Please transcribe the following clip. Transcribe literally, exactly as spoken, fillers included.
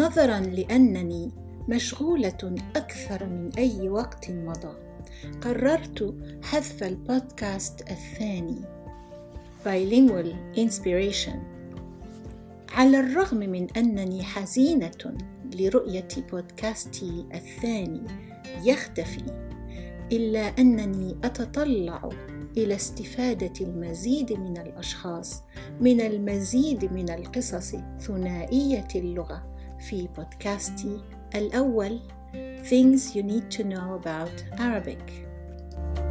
نظراً لأنني مشغولة أكثر من أي وقت مضى، قررت حذف البودكاست الثاني Bilingual Inspiration. على الرغم من أنني حزينة لرؤية بودكاستي الثاني يختفي، إلا أنني أتطلع إلى استفادة المزيد من الأشخاص من المزيد من القصص ثنائية اللغة في بودكاستي الأول Things You Need to Know About Arabic.